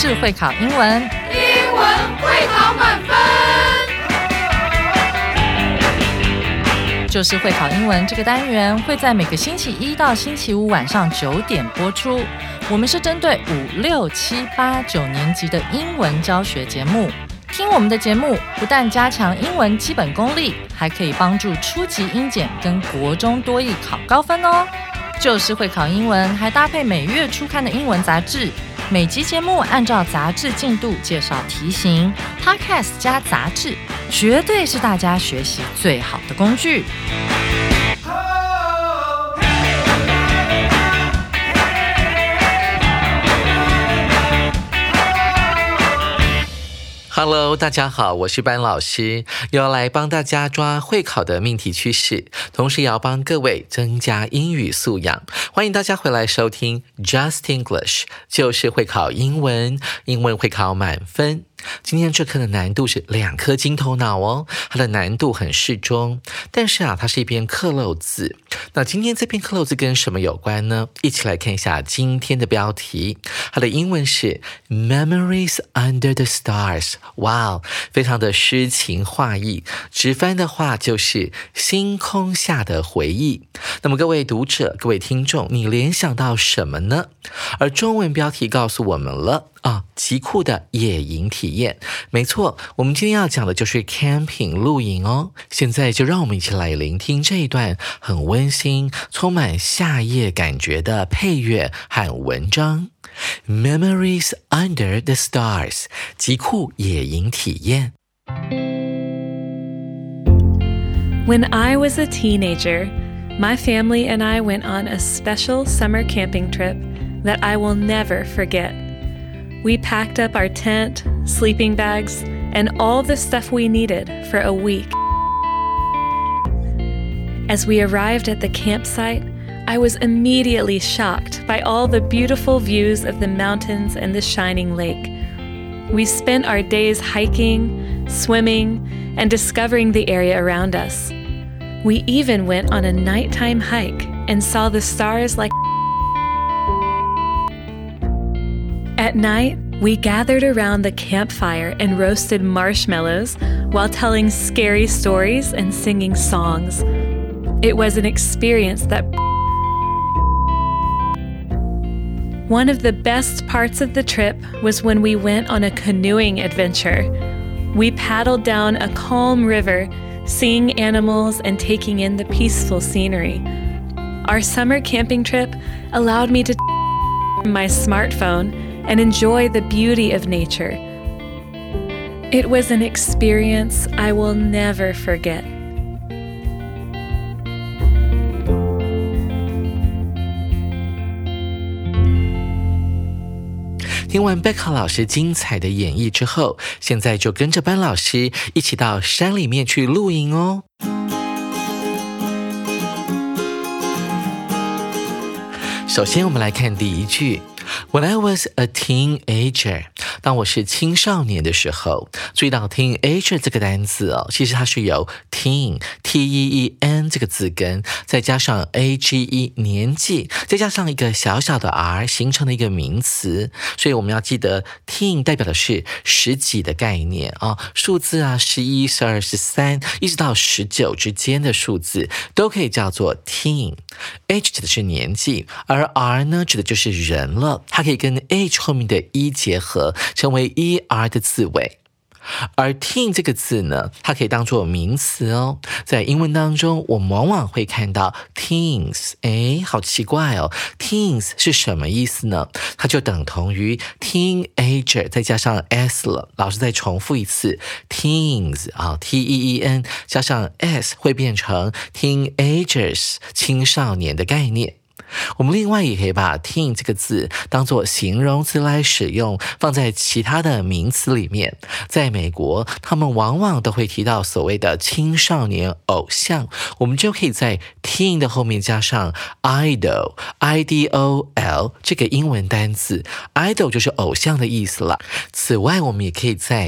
就是会考英文， 英文会考满分。 就是会考英文这个单元会在每个星期一到星期五晚上9点播出。我们是针对5、6、7、8、9年级的英文教学节目。听我们的节目，不但加强英文基本功力，还可以帮助初级英检跟国中多益考高分哦。就是会考英文，还搭配每月初刊的英文杂志。每集节目按照杂志进度介绍题型 ，Podcast 加杂志，绝对是大家学习最好的工具。 Hello， 大家好，我是班老师，又要来帮大家抓会考的命题趋势，同时也要帮各位增加英语素养。欢迎大家回来收听 Just English， 就是会考英文，英文会考满分。今天这课的难度是2颗金头脑哦，它的难度很适中，但是它是一篇克漏字。那今天这篇克漏字跟什么有关呢？一起来看一下今天的标题，它的英文是 Memories Under the Stars。哇，非常的诗情画意，直翻的话就是星空下的回忆。那么各位读者，各位听众，你联想到什么呢？而中文标题告诉我们了极酷的野营体验。没错，我们今天要讲的就是 camping 露营哦。现在就让我们一起来聆听这一段很温馨、充满夏夜感觉的配乐和文章。Memories Under the Stars， 极酷野营体验。 When I was a teenager, my family and I went on a special summer camping trip that I will never forget.We packed up our tent, sleeping bags, and all the stuff we needed for a week. As we arrived at the campsite, I was immediately shocked by all the beautiful views of the mountains and the shining lake. We spent our days hiking, swimming, and discovering the area around us. We even went on a nighttime hike and saw the stars like...At night, we gathered around the campfire and roasted marshmallows while telling scary stories and singing songs. It was an experience that... One of the best parts of the trip was when we went on a canoeing adventure. We paddled down a calm river, seeing animals and taking in the peaceful scenery. Our summer camping trip allowed me to my smartphone.and enjoy the beauty of nature. It was an experience I will never forget. 听完贝克老师精彩的演绎之后，现在就跟着班老师一起到山里面去露营哦。首先我们来看第一句When I was a teenager， 当我是青少年的时候，注意到 teenager 这个单字哦，其实它是由 teen T-E-E-N 这个字根，再加上 A-G-E 年纪，再加上一个小小的 R 形成的一个名词，所以我们要记得 teen 代表的是十几的概念数字11、12、13一直到19之间的数字都可以叫做 teen。H 指的是年纪，而 R 呢指的就是人了，它可以跟 H 后面的 E 结合，成为 ER 的字尾。而 teen 这个字呢，它可以当作名词哦。在英文当中，我们往往会看到 teens， 好奇怪哦 ，teens 是什么意思呢？它就等同于 teenager 再加上 s 了。老师再重复一次 ，teens T-E-E-N 加上 s 会变成 teenagers 青少年的概念。我们另外也可以把 teen 这个字当作形容词来使用，放在其他的名词里面。在美国，他们往往都会提到所谓的青少年偶像，我们就可以在 teen 的后面加上 idol I-D-O-L 这个英文单字， idol 就是偶像的意思了。此外，我们也可以在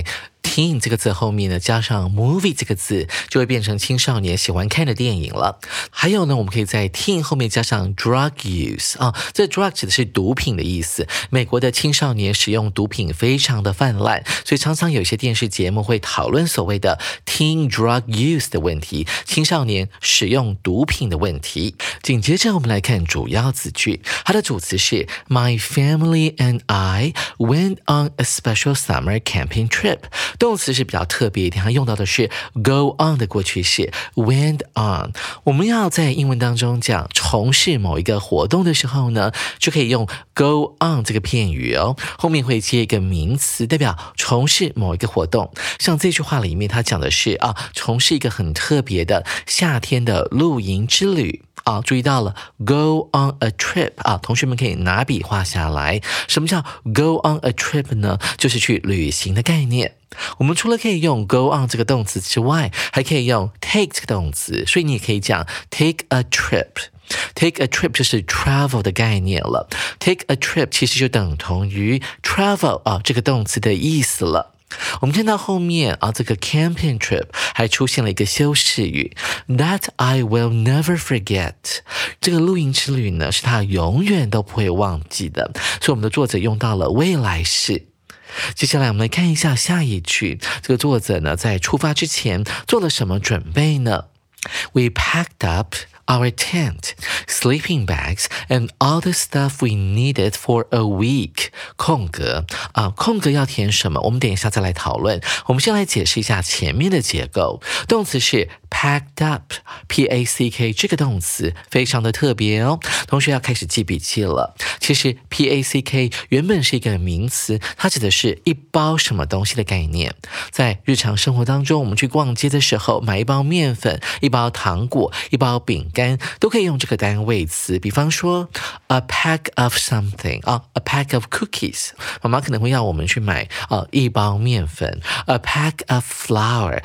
teen 这个字后面呢加上 movie 这个字，就会变成青少年喜欢看的电影了。还有呢，我们可以在 teen 后面加上 drug use 这 drug 指的是毒品的意思。美国的青少年使用毒品非常的泛滥，所以常常有些电视节目会讨论所谓的 teen drug use 的问题，青少年使用毒品的问题。紧接着我们来看主要子句，它的主词是 My family and I went on a special summer camping trip。 动词是比较特别一点，它用到的是 go on 的过去式 went on。 我们要在英文当中讲从事某一个活动的时候呢，就可以用 go on 这个片语哦，后面会接一个名词代表从事某一个活动。像这句话里面它讲的是从事一个很特别的夏天的露营之旅。注意到了 go on a trip 同学们可以拿笔画下来。什么叫 go on a trip 呢？就是去旅行的概念。我们除了可以用 go on 这个动词之外，还可以用 take 这个动词，所以你也可以讲 take a trip。Take a trip 就是 travel 的概念了。Take a trip 其实就等同于 travel 这个动词的意思了。我们看到后面这个 camping trip 还出现了一个修饰语 That I will never forget。 这个露营之旅呢是他永远都不会忘记的，所以我们的作者用到了未来式。接下来我们来看一下下一句，这个作者呢在出发之前做了什么准备呢？ We packed up our tent, sleeping bags, and all the stuff we needed for a week. 空格空格要填什么？我们等一下再来讨论。我们先来解释一下前面的结构。动词是 packed up, P-A-C-K 这个动词非常的特别哦，同学要开始记笔记了。其实 P-A-C-K 原本是一个名词，它指的是一包什么东西的概念。在日常生活当中，我们去逛街的时候，买一包面粉、一包糖果、一包饼干都可以用这个单位词。比方说 a pack of something a pack of cookies， 妈妈可能会要我们去买一包面粉。 a pack of flour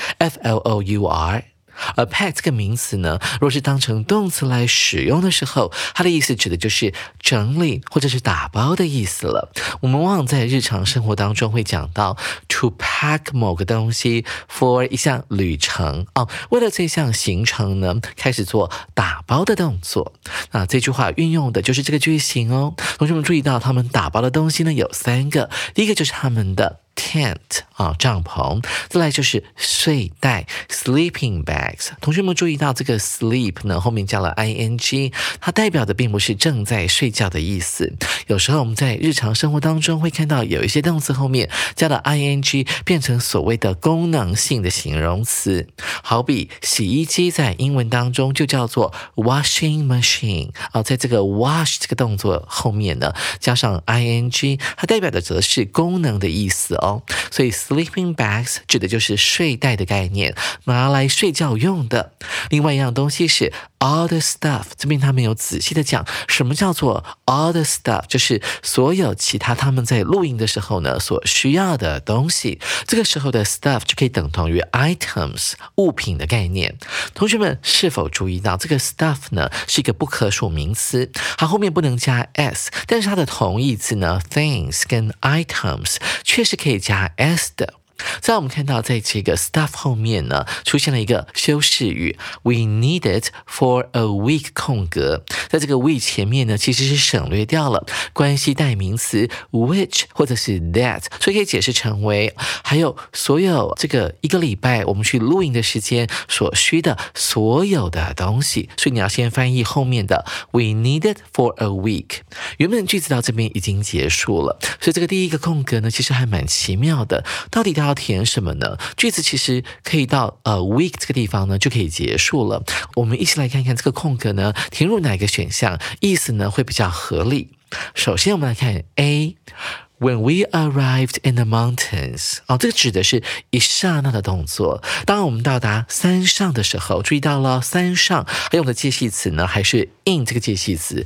F-L-O-U-R。A pack 这个名词呢，若是当成动词来使用的时候，它的意思指的就是整理或者是打包的意思了。我们往往在日常生活当中会讲到 to pack 某个东西 for 一项旅程为了这项行程呢，开始做打包的动作。那这句话运用的就是这个句型哦。同学们注意到他们打包的东西呢有3个，第一个就是他们的tent 帐篷，再来就是睡袋 sleeping bags。 同学们注意到这个 sleep 呢后面加了 ing， 它代表的并不是正在睡觉的意思。有时候我们在日常生活当中会看到有一些动词后面加了 ing 变成所谓的功能性的形容词，好比洗衣机在英文当中就叫做 washing machine 在这个 wash 这个动作后面呢加上 ing， 它代表的则是功能的意思所以 sleeping bags 指的就是睡袋的概念，拿来睡觉用的。另外一样东西是 all the stuff， 这边他们有仔细的讲什么叫做 all the stuff， 就是所有其他他们在露营的时候呢所需要的东西。这个时候的 stuff 就可以等同于 items 物品的概念。同学们是否注意到这个 stuff 呢是一个不可数名词，它后面不能加 s， 但是它的同义字呢 things 跟 items 确实可以加 s 的。在我们看到在这个 stuff 后面呢出现了一个修饰语 We need it for a week 空格，在这个 week 前面呢其实是省略掉了关系代名词 which 或者是 that， 所以可以解释成为还有所有这个一个礼拜我们去露营的时间所需的所有的东西。所以你要先翻译后面的 We need it for a week。 原本句子到这边已经结束了，所以这个第一个空格呢其实还蛮奇妙的，到底它要填什么呢？句子其实可以到week 这个地方呢就可以结束了。我们一起来看看这个空格呢填入哪个选项意思呢会比较合理。首先我们来看 A， When we arrived in the mountains， 这个指的是一刹那的动作。当我们到达山上的时候，注意到了山上还用的介系词呢还是 in 这个介系词，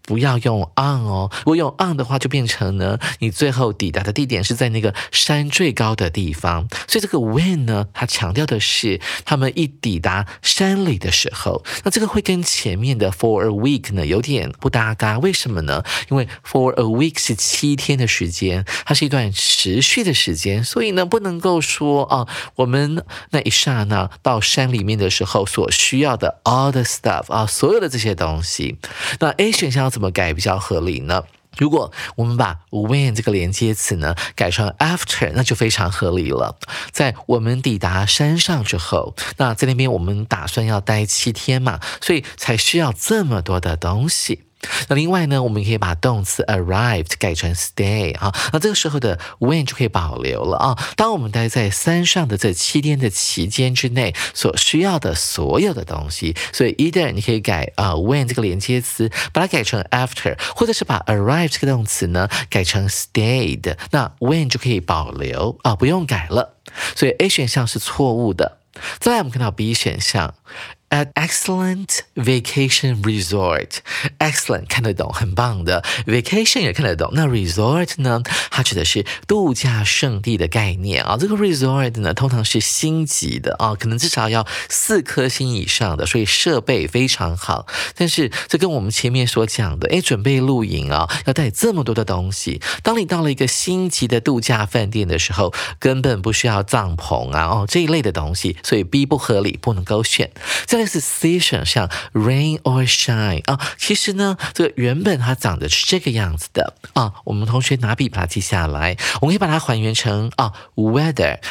不要用 on 哦，如果用 on 的话，就变成呢，你最后抵达的地点是在那个山最高的地方。所以这个 when 呢，它强调的是他们一抵达山里的时候。那这个会跟前面的 for a week 呢有点不搭嘎，为什么呢？因为 for a week 是7天的时间，它是一段持续的时间，所以呢不能够说我们那一刹那到山里面的时候所需要的 all the stuff 所有的这些东西。那 A 选项要怎么改比较合理呢？如果我们把 when 这个连接词呢改成 after， 那就非常合理了。在我们抵达山上之后，那在那边我们打算要待7天嘛，所以才需要这么多的东西。那另外呢，我们可以把动词 arrived 改成 stay 那这个时候的 when 就可以保留了当我们待在山上的这7天的期间之内所需要的所有的东西，所以 either 你可以改when 这个连接词，把它改成 after， 或者是把 arrive 这个动词呢改成 stayed， 那 when 就可以保留不用改了。所以 A 选项是错误的。再来我们看到 B 选项，At excellent vacation resort， excellent 看得懂，很棒的 vacation 也看得懂。那 resort 呢，它指的是度假胜地的概念这个 resort 呢，通常是星级的可能至少要4颗星以上的，所以设备非常好。但是这跟我们前面所讲的，准备露营要带这么多的东西。当你到了一个星级的度假饭店的时候，根本不需要帐篷这一类的东西，所以 B 不合理，不能够选。再来是 C 选项 rain or shine 其实呢这个原本它长得是这个样子的我们同学拿笔把它记下来，我们可以把它还原成weather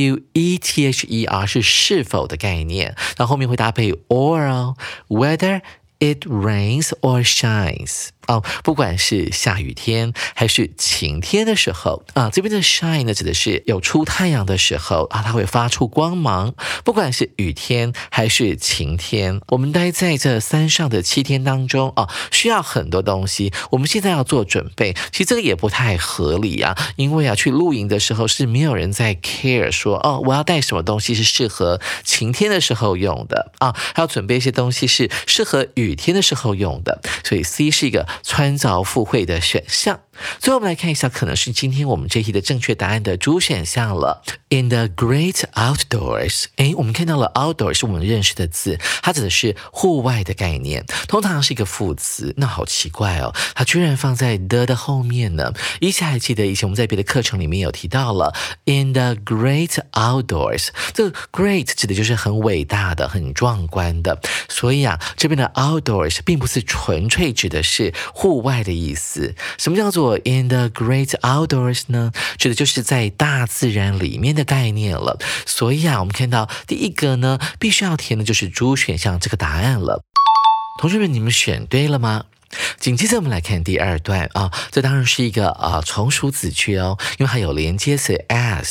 W-E-T-H-E-R 是是否的概念，然后后面会搭配 or whether it rains or shines不管是下雨天还是晴天的时候这边的 shine 呢指的是有出太阳的时候它会发出光芒。不管是雨天还是晴天，我们待在这山上的7天当中需要很多东西，我们现在要做准备。其实这个也不太合理因为去露营的时候是没有人在 care 说我要带什么东西是适合晴天的时候用的还要准备一些东西是适合雨天的时候用的，所以 C 是一个穿凿附会的选项。最后我们来看一下可能是今天我们这题的正确答案的主选项了。In the great outdoors， 我们看到了 outdoors 是我们认识的字，它指的是户外的概念，通常是一个副词。那好奇怪它居然放在 the 后面呢。依稀还记得以前我们在别的课程里面有提到了 in the great outdoors， 这个 great 指的就是很伟大的、很壮观的，所以这边的 outdoors 并不是纯粹指的是户外的意思。什么叫做in the great outdoors 呢？指的就是在大自然里面的概念了。所以我们看到第一个呢，必须要填的就是主选项这个答案了。同学们，你们选对了吗？紧接着我们来看第二段这当然是一个从属子句因为它有连接词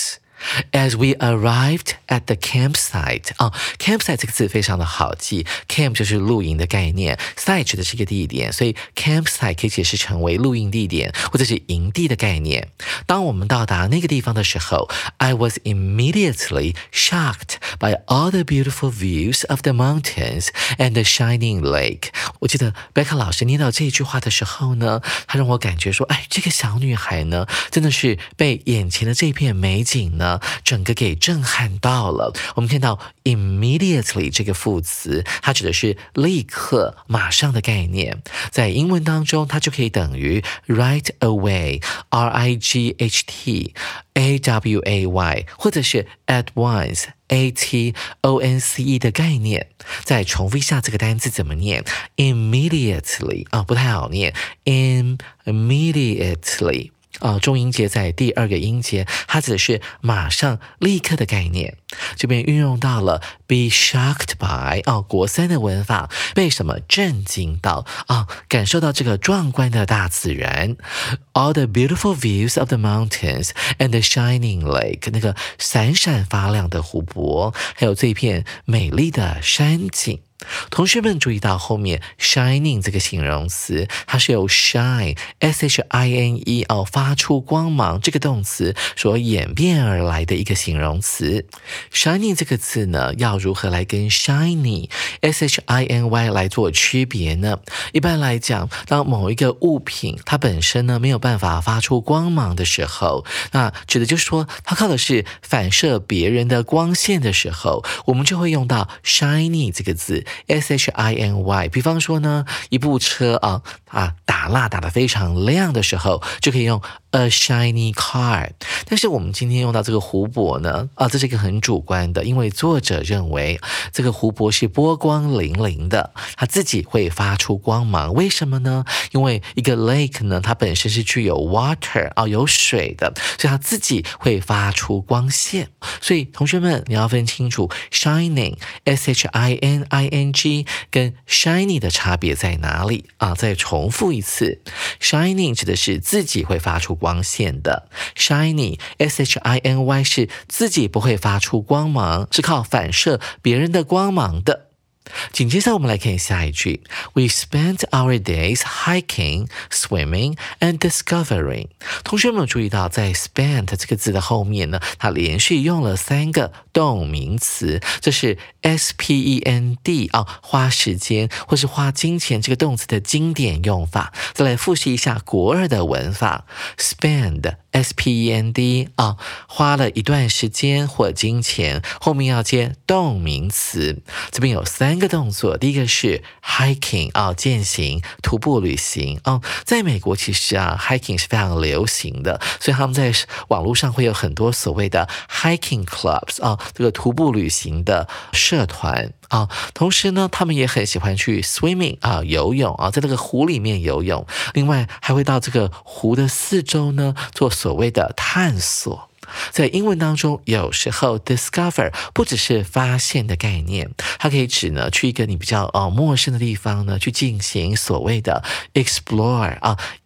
as。As we arrived at the campsite campsite 这个字非常的好记， camp 就是露营的概念， site 指的是一个地点，所以 campsite 可以解释成为露营地点或者是营地的概念。当我们到达那个地方的时候 I was immediately shocked by all the beautiful views of the mountains and the shining lake。 我记得贝卡老师念到这一句话的时候呢，他让我感觉说这个小女孩呢真的是被眼前的这片美景呢整个给震撼到了。我们看到 immediately 这个副词，它指的是立刻马上的概念，在英文当中它就可以等于 right away R-I-G-H-T A-W-A-Y 或者是 at once A-T-O-N-C-E 的概念。再重复一下这个单字怎么念 immediately 不太好念 immediately重音节在第二个音节，它指的是马上立刻的概念。这边运用到了 be shocked by 国三的文法，被什么震惊到感受到这个壮观的大自然。 All the beautiful views of the mountains and the shining lake 那个闪闪发亮的湖泊，还有这片美丽的山景。 同学们注意到后面 shining 这个形容词，它是由 shine S-H-I-N-E 发出光芒这个动词所演变而来的一个形容词。shining 这个字呢，要如何来跟 shiny S-H-I-N-Y 来做区别呢？一般来讲，当某一个物品它本身呢没有办法发出光芒的时候，那指的就是说它靠的是反射别人的光线的时候，我们就会用到 shiny 这个字 S-H-I-N-Y。 比方说呢，一部车打蜡打得非常亮的时候，就可以用 a shiny car。 但是我们今天用到这个湖泊呢，这是一个很主观的，因为作者认为这个湖泊是波光粼粼的，它自己会发出光芒。为什么呢？因为一个 lake 呢，它本身是具有 water 有水的，所以它自己会发出光线。所以同学们，你要分清楚 shining S-H-I-N-I-N-G 跟 shiny 的差别在哪里再重复一次， shining 指的是自己会发出光线的， shiny S-H-I-N-Y 是自己不会发出光芒，是靠反射别人的光芒的。紧接着我们来看下一句 We spent our days hiking, swimming and discovering。 同学们有注意到在 spent 这个字的后面呢，它连续用了3个动名词，这是 S-P-E-N-D 花时间或是花金钱这个动词的经典用法。再来复习一下国二的文法， spend S-P-E-N-D 花了一段时间或金钱，后面要接动名词。这边有3个动作，第一个是 hiking 健行徒步旅行在美国其实hiking 是非常流行的，所以他们在网络上会有很多所谓的 hiking clubs 这个徒步旅行的社团同时呢，他们也很喜欢去 swimming 游泳在这个湖里面游泳，另外还会到这个湖的四周呢做所谓的探索。在英文当中，有时候 discover 不只是发现的概念，它可以指呢去一个你比较陌生的地方呢去进行所谓的 explore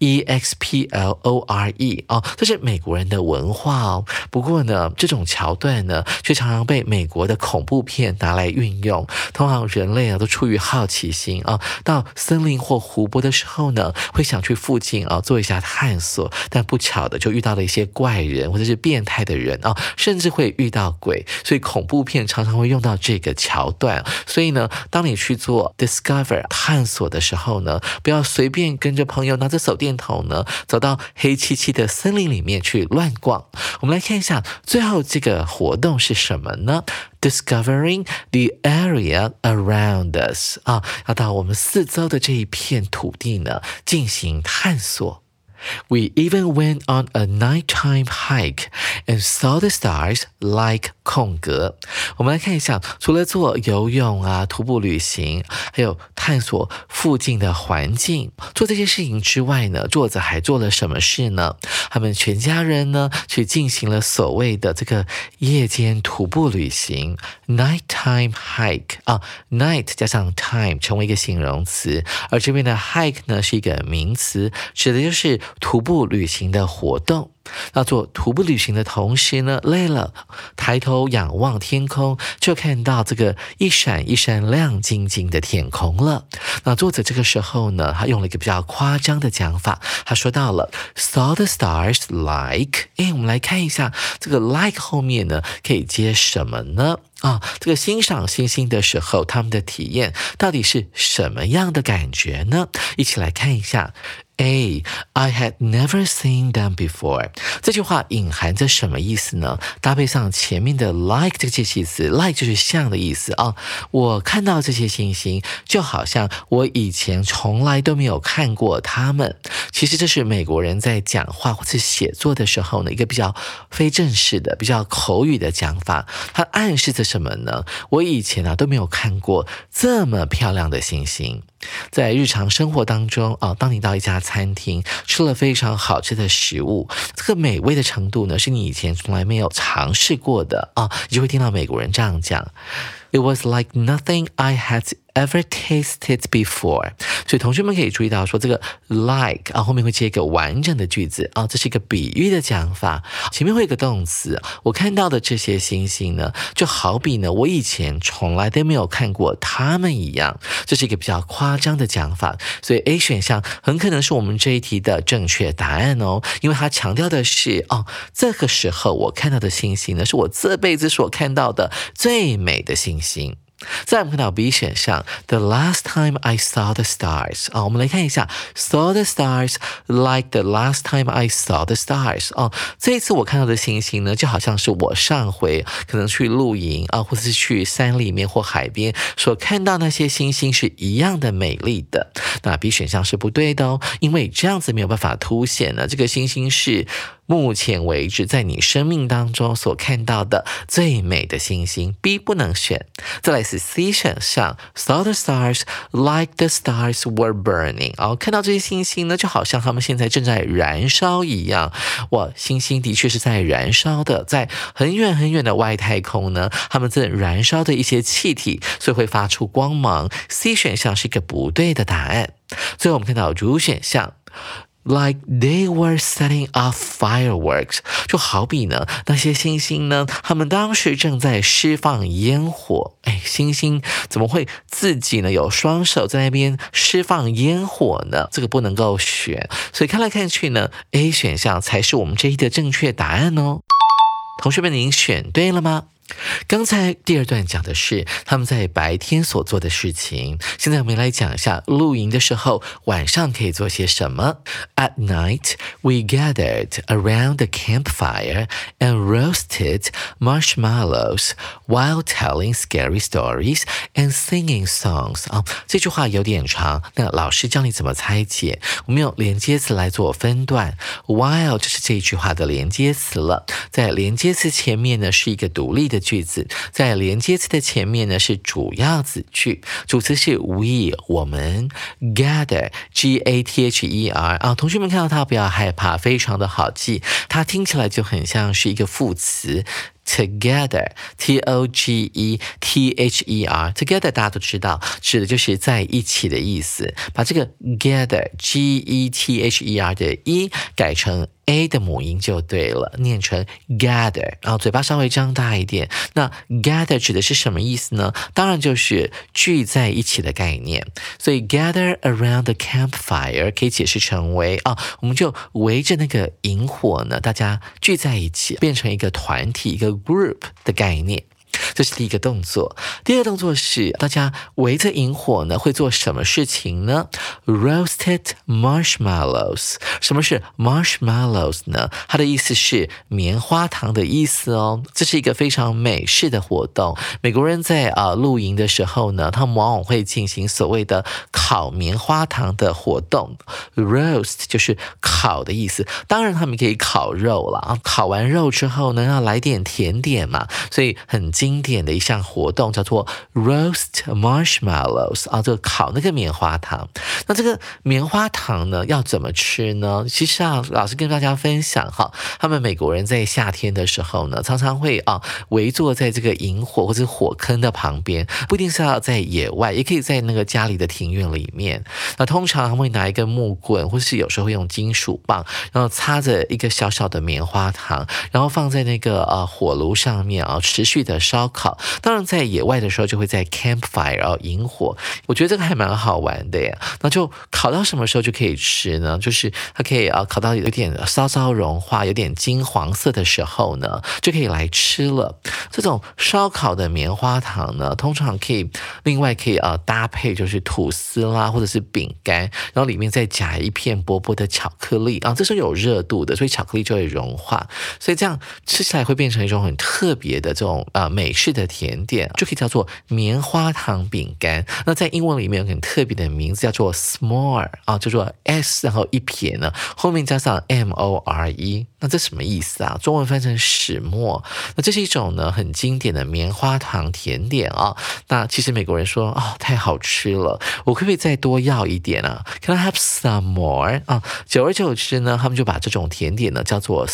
E-X-P-L-O-R-E 这是美国人的文化不过呢，这种桥段呢却常常被美国的恐怖片拿来运用。通常人类都出于好奇心到森林或湖泊的时候呢，会想去附近做一下探索，但不巧的就遇到了一些怪人或者是变态的人甚至会遇到鬼，所以恐怖片常常会用到这个桥段。所以呢，当你去做 discover 探索的时候呢，不要随便跟着朋友拿着手电筒呢走到黑漆漆的森林里面去乱逛。我们来看一下最后这个活动是什么呢？ Discovering the area around us 要到我们四周的这一片土地呢进行探索。We even went on a nighttime hike and saw the stars like 空格。我们来看一下，除了做游泳徒步旅行，还有探索附近的环境，做这些事情之外呢，作者还做了什么事呢？他们全家人呢去进行了所谓的这个夜间徒步旅行 nighttime hike night 加上 time 成为一个形容词，而这边的 hike 呢是一个名词，指的就是徒步旅行的活动。那做徒步旅行的同时呢，累了，抬头仰望天空，就看到这个一闪一闪亮晶晶的天空了。那作者这个时候呢，他用了一个比较夸张的讲法，他说到了 saw the stars like 我们来看一下这个 like 后面呢可以接什么呢？这个欣赏星星的时候，他们的体验到底是什么样的感觉呢？一起来看一下。I had never seen them before 这句话隐含着什么意思呢？搭配上前面的 like 这个介系词， like 就是像的意思我看到这些星星就好像我以前从来都没有看过它们。其实这是美国人在讲话或是写作的时候呢一个比较非正式的比较口语的讲法，它暗示着什么呢？我以前都没有看过这么漂亮的星星。在日常生活当中当你到一家餐厅吃了非常好吃的食物，这个美味的程度呢是你以前从来没有尝试过的你就会听到美国人这样讲，It was like nothing I had ever tasted before， 所以同学们可以注意到说这个 like 后面会接一个完整的句子这是一个比喻的讲法，前面会有一个动词。我看到的这些星星呢，就好比呢我以前从来都没有看过它们一样，这是一个比较夸张的讲法。所以 A 选项很可能是我们这一题的正确答案因为它强调的是这个时候我看到的星星呢，是我这辈子所看到的最美的星星。再来我们看到 B 选项 The last time I saw the stars 我们来看一下 Saw the stars like the last time I saw the stars 这一次我看到的星星呢，就好像是我上回可能去露营或者是去山里面或海边所看到那些星星是一样的美丽的。那 B 选项是不对的因为这样子没有办法凸显呢这个星星是目前为止在你生命当中所看到的最美的星星， B 不能选。再来是 C 选项 Saw the stars like the stars were burning 看到这些星星呢，就好像他们现在正在燃烧一样。哇，星星的确是在燃烧的，在很远很远的外太空呢，他们正燃烧的一些气体，所以会发出光芒。 C 选项是一个不对的答案。最后我们看到主选项Like they were setting off fireworks 就好比呢那些星星呢，他们当时正在释放烟火。星星怎么会自己呢有双手在那边释放烟火呢？这个不能够选，所以看来看去呢 A 选项才是我们这一题的正确答案同学们您选对了吗？刚才第二段讲的是他们在白天所做的事情，现在我们来讲一下露营的时候晚上可以做些什么。 At night, we gathered around the campfire and roasted marshmallows while telling scary stories and singing songs 这句话有点长，那老师教你怎么拆解，我们用连接词来做分段。 While 就是这句话的连接词了，在连接词前面呢是一个独立的句子，在连接词的前面呢是主要子句，主词是 we 我们， gather G-A-T-H-E-R 同学们看到它不要害怕，非常的好记，它听起来就很像是一个副词。Together, T-O-G-E-T-H-E-R Together 大家都知道指的就是在一起的意思，把这个 gather G-E-T-H-E-R 的 E 改成 A 的母音就对了，念成 gather 然后嘴巴稍微张大一点。那 gather 指的是什么意思呢？当然就是聚在一起的概念，所以 gather around the campfire 可以解释成为我们就围着那个萤火呢，大家聚在一起变成一个团体，一个 group 的概念。这是第一个动作。第二个动作是大家围着萤火呢会做什么事情呢？ Roasted marshmallows 什么是 marshmallows 呢？它的意思是棉花糖的意思这是一个非常美式的活动。美国人在露营的时候呢，他们往往会进行所谓的烤棉花糖的活动。 Roast 就是烤的意思，当然他们可以烤肉了烤完肉之后呢，要来点甜点嘛，所以很经典的一项活动叫做 roast marshmallows 这个烤那个棉花糖。那这个棉花糖呢要怎么吃呢？其实老师跟大家分享他们美国人在夏天的时候呢，常常会围坐在这个萤火或者火坑的旁边，不一定是要在野外，也可以在那个家里的庭院里面。那通常他们会拿一根木棍，或是有时候会用金属棒，然后插着一个小小的棉花糖，然后放在那个火炉上面持续的烧烤。当然在野外的时候就会在 campfire 萤火，我觉得这个还蛮好玩的耶。那就烤到什么时候就可以吃呢？就是它可以烤到有点稍稍融化，有点金黄色的时候呢，就可以来吃了。这种烧烤的棉花糖呢，通常可以另外可以搭配就是吐司啦，或者是饼干，然后里面再夹一片薄薄的巧克力这是有热度的，所以巧克力就会融化，所以这样吃起来会变成一种很特别的这种美式的甜点，就可以叫做棉花糖饼干。那在英文里面有很特别的名字叫做 s'more 叫做 S 然后一撇呢后面加上 M-O-R-E 那这什么意思啊？中文翻成始末。那这是一种呢很经典的棉花糖甜点啊。那其实美国人说太好吃了，我可不可以再多要一点啊 ？Can I have some more？ 啊，久而久之呢，他们就把这种甜点呢叫做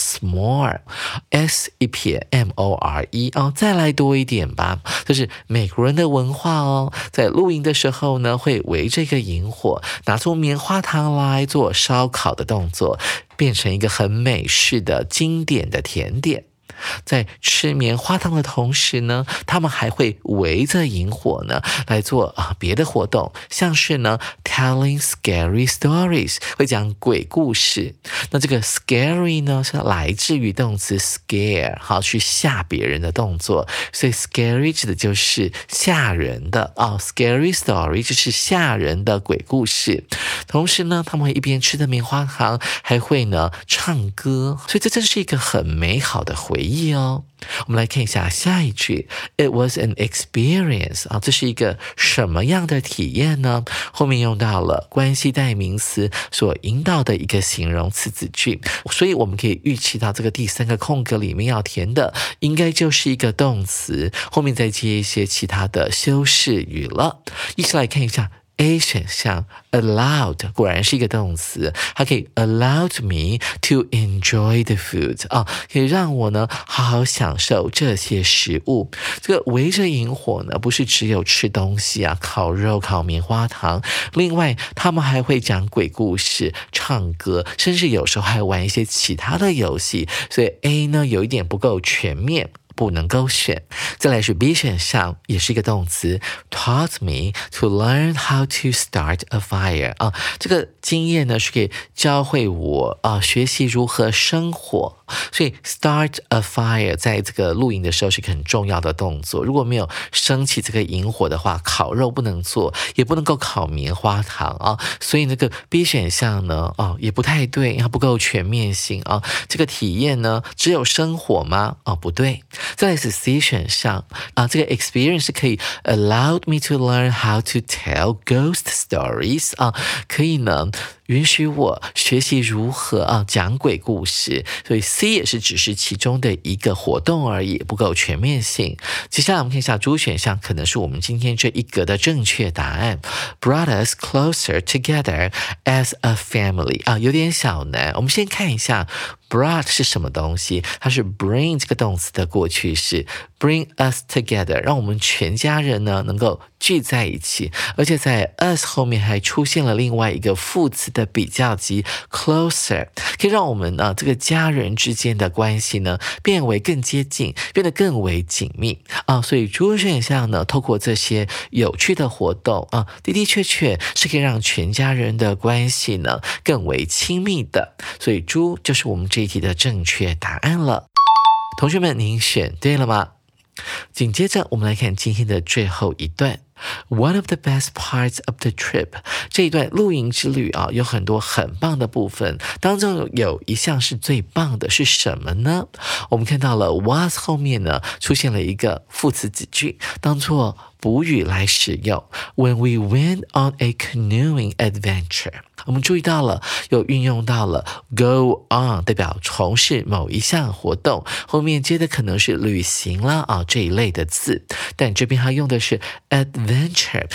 s'more，S 一撇 M-O-R-E 啊，再来多一点吧。这是美国人的文化哦，在露营的时候呢，会围着一个萤火，拿出棉花糖来做烧烤的动作，变成一个很美式的经典的甜点。在吃棉花糖的同时呢，他们还会围着萤火呢来做别的活动，像是呢 telling scary stories， 会讲鬼故事。那这个 scary 呢是来自于动词 scare， 好，去吓别人的动作，所以 scary 指的就是吓人的scary story 就是吓人的鬼故事。同时呢，他们会一边吃着棉花糖，还会呢唱歌，所以这真是一个很美好的回忆哦。我们来看一下下一句 It was an experience 这是一个什么样的体验呢？后面用到了关系代名词所引导的一个形容词子句，所以我们可以预期到这个第三个空格里面要填的应该就是一个动词，后面再接一些其他的修饰语了。一起来看一下A 选项 allowed 果然是一个动词，它可以 allowed me to enjoy the food 可以让我呢好好享受这些食物。这个围着萤火呢不是只有吃东西烤肉烤棉花糖，另外他们还会讲鬼故事唱歌，甚至有时候还玩一些其他的游戏，所以 A 呢有一点不够全面，不能够选。再来是 B 选项，也是一个动词 taught me to learn how to start a fire 这个经验呢是可以教会我学习如何生火，所以 start a fire 在这个露营的时候是一个很重要的动作，如果没有升起这个萤火的话，烤肉不能做，也不能够烤棉花糖所以那个 B 选项呢也不太对，它不够全面性这个体验呢只有生火吗？不对。再来是 C 选项这个 experience 可以 allowed me to learn how to tell ghost stories 可以呢允许我学习如何讲鬼故事，所以 C 也是只是其中的一个活动而已，不够全面性。接下来我们看一下 D 选项，可能是我们今天这一格的正确答案 brought us closer together as a family 有点小难。我们先看一下 brought 是什么东西，它是 bring 这个动词的过去式， bring us together 让我们全家人呢能够聚在一起，而且在 us 后面还出现了另外一个副词的比较级 closer， 可以让我们这个家人之间的关系呢变为更接近，变得更为紧密所以主选项呢透过这些有趣的活动的的确确是可以让全家人的关系呢更为亲密的，所以猪就是我们这一题的正确答案了。同学们，您选对了吗？紧接着我们来看今天的最后一段One of the best parts of the trip 这一段露营之旅有很多很棒的部分，当中有一项是最棒的，是什么呢？我们看到了 was 后面呢出现了一个副词子句，当作补语来使用 When we went on a canoeing adventure， 我们注意到了有运用到了 go on 代表从事某一项活动，后面接的可能是旅行啦这一类的字，但这边它用的是 adventure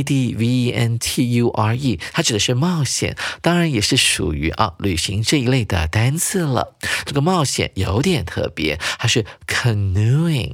A-D-V-E-N-T-U-R-E 它指的是冒险，当然也是属于旅行这一类的单字了。这个冒险有点特别，它是 canoeing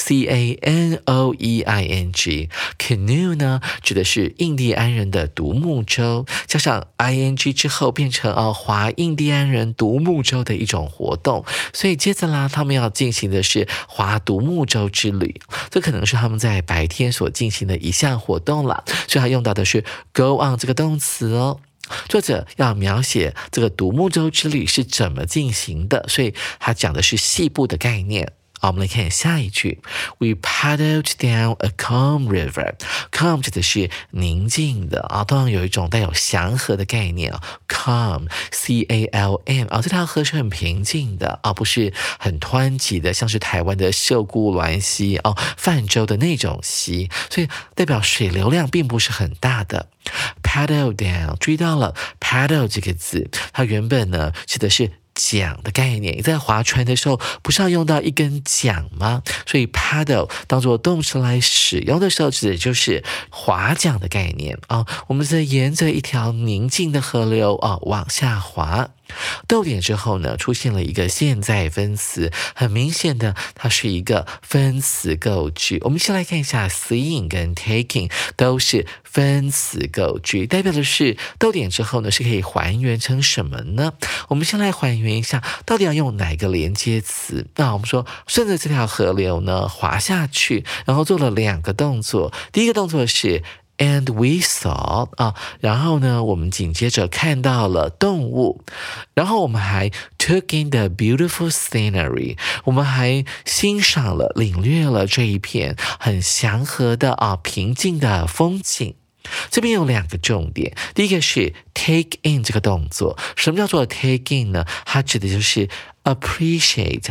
C-A-N-O-E-I-N-G Canoe 呢指的是印第安人的独木舟，加上 ing 之后变成划印第安人独木舟的一种活动，所以接着啦他们要进行的是划独木舟之旅，这可能是他们在白天所进行的一项活动啦，所以他用到的是 go on 这个动词作者要描写这个独木舟之旅是怎么进行的，所以他讲的是细部的概念。我们来看下一句 We paddled down a calm river Calm 指的是宁静的通常有一种带有祥和的概念Calm C-A-L-M 这条河是很平静的不是很湍急的，像是台湾的秀姑峦溪泛舟的那种溪，所以代表水流量并不是很大的。Paddle down 注意到了 paddle 这个字，它原本呢指的是桨的概念，你在划船的时候不是要用到一根桨吗？所以 paddle 当作动词来使用的时候，指的就是划桨的概念啊。我们在沿着一条宁静的河流啊往下划。逗点之后呢，出现了一个现在分词，很明显的，它是一个分词构句。我们先来看一下 seeing 跟 taking 都是分词构句，代表的是逗点之后呢是可以还原成什么呢？我们先来还原一下，到底要用哪个连接词？那我们说顺着这条河流呢滑下去，然后做了2个动作。第一个动作是And we saw 啊，然后呢，我们紧接着看到了动物，然后我们还 took in the beautiful scenery， 我们还欣赏了、领略了这一片很祥和的平静的风景。这边有2个重点，第一个是 take in 这个动作。什么叫做 take in 呢？它指的就是appreciate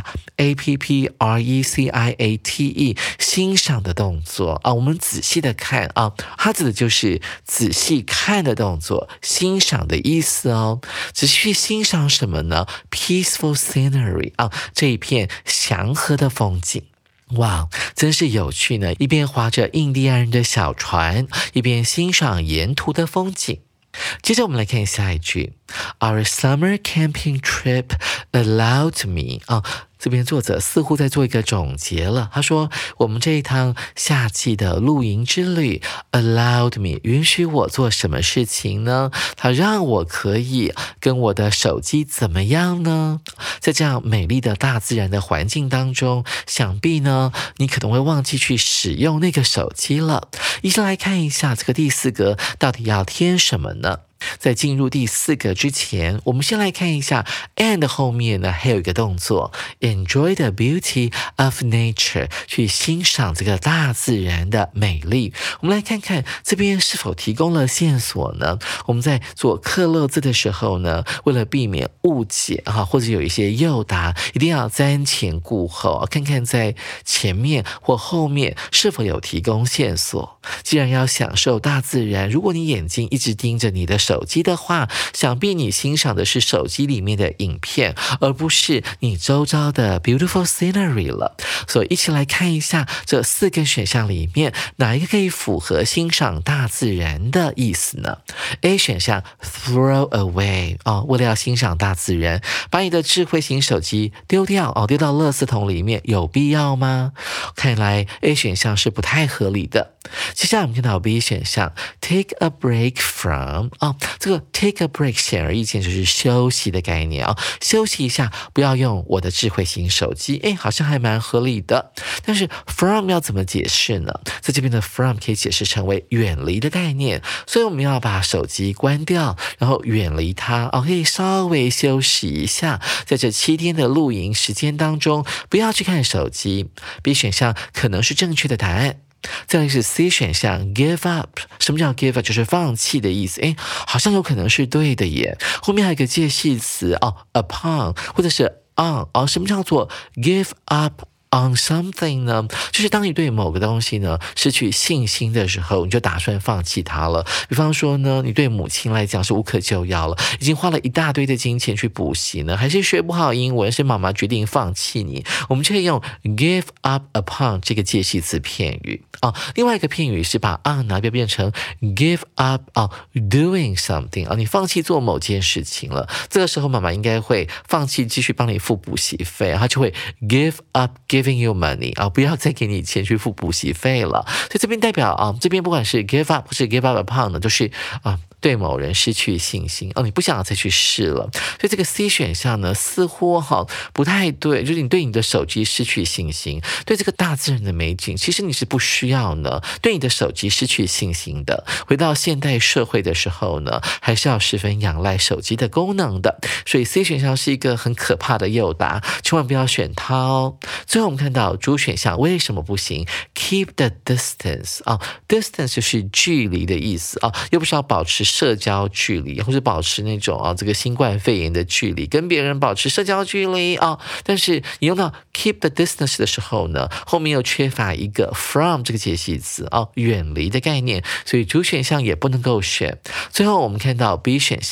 A-P-P-R-E-C-I-A-T-E 欣赏的动作啊，我们仔细的看啊，它指的就是仔细看的动作，欣赏的意思哦。仔细去欣赏什么呢？ Peaceful scenery 啊，这一片祥和的风景。哇，真是有趣呢！一边划着印第安人的小船，一边欣赏沿途的风景。接着我们来看下一句 Our summer camping trip allowed me 这边作者似乎在做一个总结了。他说我们这一趟夏季的露营之旅 allowed me 允许我做什么事情呢？它让我可以跟我的手机怎么样呢？在这样美丽的大自然的环境当中，想必呢你可能会忘记去使用那个手机了。一起来看一下这个第4格到底要添什么呢？在进入第4个之前，我们先来看一下 and 后面呢还有一个动作 enjoy the beauty of nature 去欣赏这个大自然的美丽。我们来看看这边是否提供了线索呢？我们在做克漏字的时候呢，为了避免误解或者有一些诱答，一定要瞻前顾后，看看在前面或后面是否有提供线索。既然要享受大自然，如果你眼睛一直盯着你的手机的话，想必你欣赏的是手机里面的影片，而不是你周遭的 beautiful scenery 了。所以一起来看一下这4个选项里面哪一个可以符合欣赏大自然的意思呢？ A 选项 throw away 为了要欣赏大自然，把你的智慧型手机丢掉丢到垃圾桶里面，有必要吗？看来 A 选项是不太合理的。接下来我们看到 B 选项 take a break from 这个 take a break 显而易见就是休息的概念休息一下，不要用我的智慧型手机，好像还蛮合理的。但是 from 要怎么解释呢？在这边的 from 可以解释成为远离的概念，所以我们要把手机关掉，然后远离它可以稍微休息一下，在这7天的露营时间当中不要去看手机。 B 选项可能是正确的答案。再来是 C 选项 give up。 什么叫 give up？ 就是放弃的意思。好像有可能是对的耶。后面还有一个介系词upon 或者是 on。什么叫做 give up on something 呢？就是当你对某个东西呢失去信心的时候，你就打算放弃它了。比方说呢，你对母亲来讲是无可救药了，已经花了一大堆的金钱去补习呢，还是学不好英文，是妈妈决定放弃你，我们就可以用 give up upon 这个介系词片语另外一个片语是把 on 拿变成 give up doing something 你放弃做某件事情了，这个时候妈妈应该会放弃继续帮你付补习费，她就会 give up giving you money 不要再给你钱去付补习费了。所以这边代表这边不管是 give up 或是 give up upon 呢，都是对某人失去信心你不想再去试了。所以这个 C 选项呢似乎不太对，就是你对你的手机失去信心，对这个大自然的美景其实你是不需要呢对你的手机失去信心的。回到现代社会的时候呢，还是要十分仰赖手机的功能的。所以 C 选项是一个很可怕的诱答，千万不要选它最后我们看到主选项为什么不行？ keep the distance distance 就是距离的意思又不是要保持社交距离，或是保持那种这个新冠肺炎的距离，跟别人保持社交距离但是你用到 keep the distance 的时候呢，后面又缺乏一个 from 这个介系词远离的概念，所以主选项也不能够选。最后我们看到 B 选项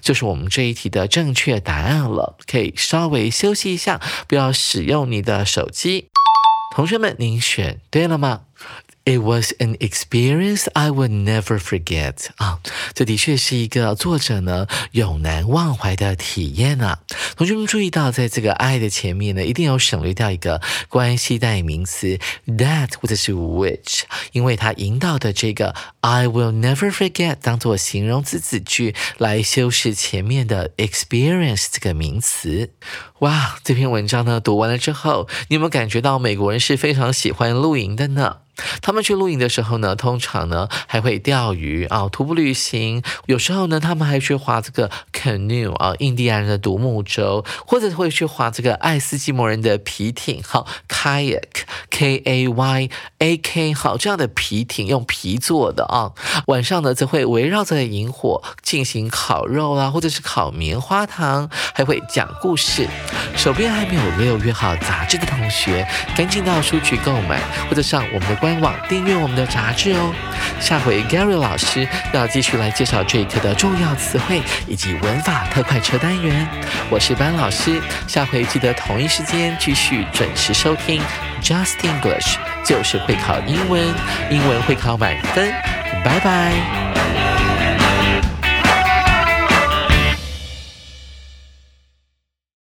就是我们这一题的正确答案了，可以稍微休息一下，不要使用你的手机。同学们，您选对了吗？It was an experience I would never forget 这的确是一个作者呢永难忘怀的体验啊。同学们注意到，在这个 I 的前面呢，一定有省略掉一个关系代名词 that 或者是 which， 因为它引导的这个 I will never forget 当作形容词子句来修饰前面的 experience 这个名词。哇，这篇文章呢读完了之后，你有没有感觉到美国人是非常喜欢露营的呢？他们去露营的时候呢，通常呢还会钓鱼徒步旅行，有时候呢他们还去划这个 canoe 印第安人的独木舟，或者会去划这个爱斯基摩人的皮艇kayak K-A-Y-A-K 这样的皮艇用皮做的晚上呢则会围绕着萤火进行烤肉啦，或者是烤棉花糖，还会讲故事。手边还没有6月号杂志的同学，赶紧到书局购买，或者上我们的官网订阅我们的杂志哦。下回 Gary 老师要继续来介绍这一课的重要词汇以及文法特快车单元。我是班老师，下回记得同一时间继续准时收听 Just English， 就是会考英文，英文会考满分。拜拜。